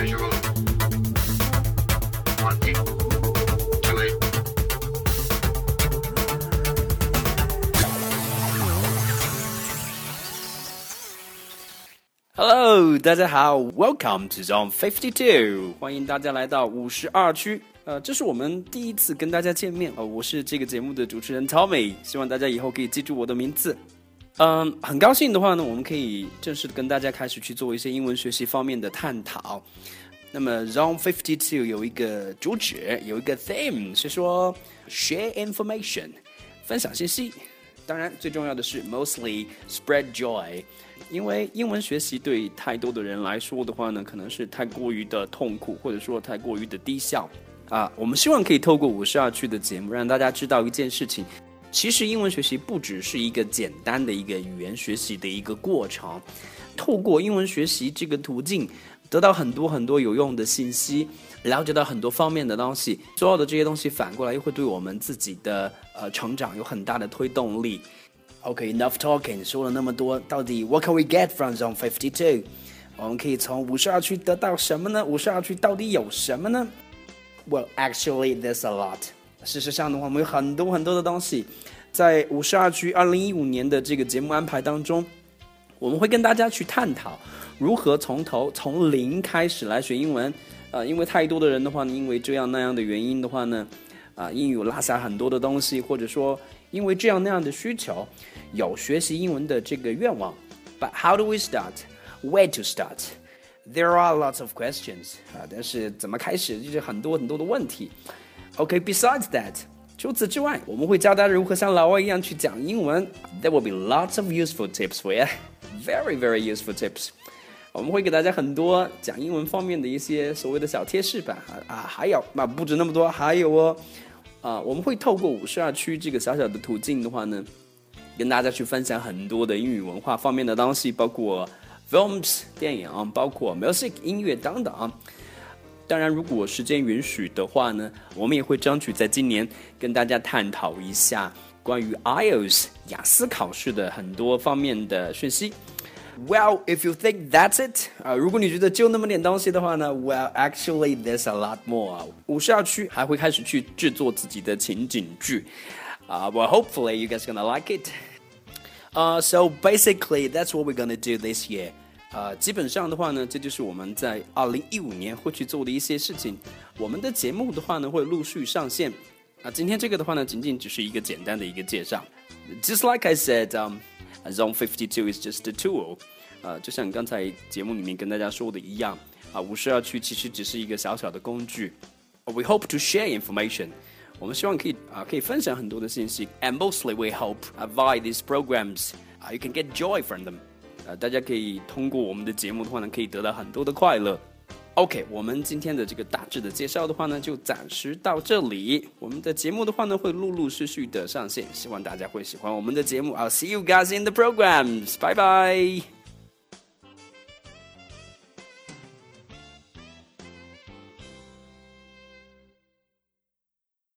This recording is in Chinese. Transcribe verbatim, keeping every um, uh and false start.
visual. One, two, eight. Hello， 大家好 ，Welcome to Zone fifty-two， 欢迎大家来到五十二区。呃，这是我们第一次跟大家见面，呃，我是这个节目的主持人 Tommy， 希望大家以后可以记住我的名字。嗯，很高兴的话呢，我们可以正式的跟大家开始去做一些英文学习方面的探讨。那么 Zone fifty-two 有一个主旨，有一个 theme 是说 share information， 分享信息。当然，最重要的是 mostly spread joy。因为英文学习对太多的人来说的话呢，可能是太过于的痛苦，或者说太过于的低效啊。我们希望可以透过五十二区的节目，让大家知道一件事情：其实英文学习不只是一个简单的一个语言学习的一个过程，透过英文学习这个途径，得到很多很多有用的信息，了解到很多方面的东西，所有的这些东西反过来又会对我们自己的呃成长有很大的推动力。Okay, enough talking. 说了那么多，到底 what can we get from Zone fifty-two? 我们可以从五十二区得到什么呢？五十二区到底有什么呢？ Well, actually, there's a lot. 事实上的话，我们有很多很多的东西。在五十二区二零一五年的这个节目安排当中，我们会跟大家去探讨如何从头从零开始来学英文。呃，因为太多的人的话呢，因为这样那样的原因的话呢，啊、呃，英语落下很多的东西，或者说因为这样那样的需求，有学习英文的这个愿望。But how do we start? Where to start? There are lots of questions. 啊，但是怎么开始就是很多很多的问题。Okay, besides that, 除此之外，我们会教大家如何像老外一样去讲英文。There will be lots of useful tips for you. Very, very useful tips. 我们会给大家很多讲英文方面的一些所谓的小贴士吧。啊，还有啊，不止那么多，还有哦。啊，我们会透过五十二区这个小小的途径的话呢，跟大家去分享很多的英语文化方面的东西，包括 films 电影，包括 music 音乐等等。当然，如果时间允许的话呢，我们也会争取在今年跟大家探讨一下关于 I E L T S 雅思考试的很多方面的讯息。Well, if you think that's it, 啊，如果你觉得就那么点东西的话呢 ，Well, actually, there's a lot more. 五十二区还会开始去制作自己的情景剧，啊、uh, well, hopefully you guys gonna like it. Uh, so basically, that's what we're gonna do this year. 呃、uh, 基本上的话呢，这就是我们在二零一五年会去做的一些事情。我们的节目的话呢，会陆续上线。啊、uh, 今天这个的话呢，仅仅只是一个简单的一个介绍。Just like I said, um.Zone fifty-two is just a tool， 呃，就像刚才节目里面跟大家说的一样，啊，五十二区其实只是一个小小的工具。We hope to share information， 我们希望可以啊，可以分享很多的信息。And mostly we hope uh, via these programs, uh, you can get joy from them。呃，大家可以通过我们的节目的话呢，可以得到很多的快乐。OK， 我们今天的这个大致的介绍的话呢，就暂时到这里。我们的节目的话呢，会陆陆续续的上线，希望大家会喜欢我们的节目。I'll see you guys in the programs. Bye bye.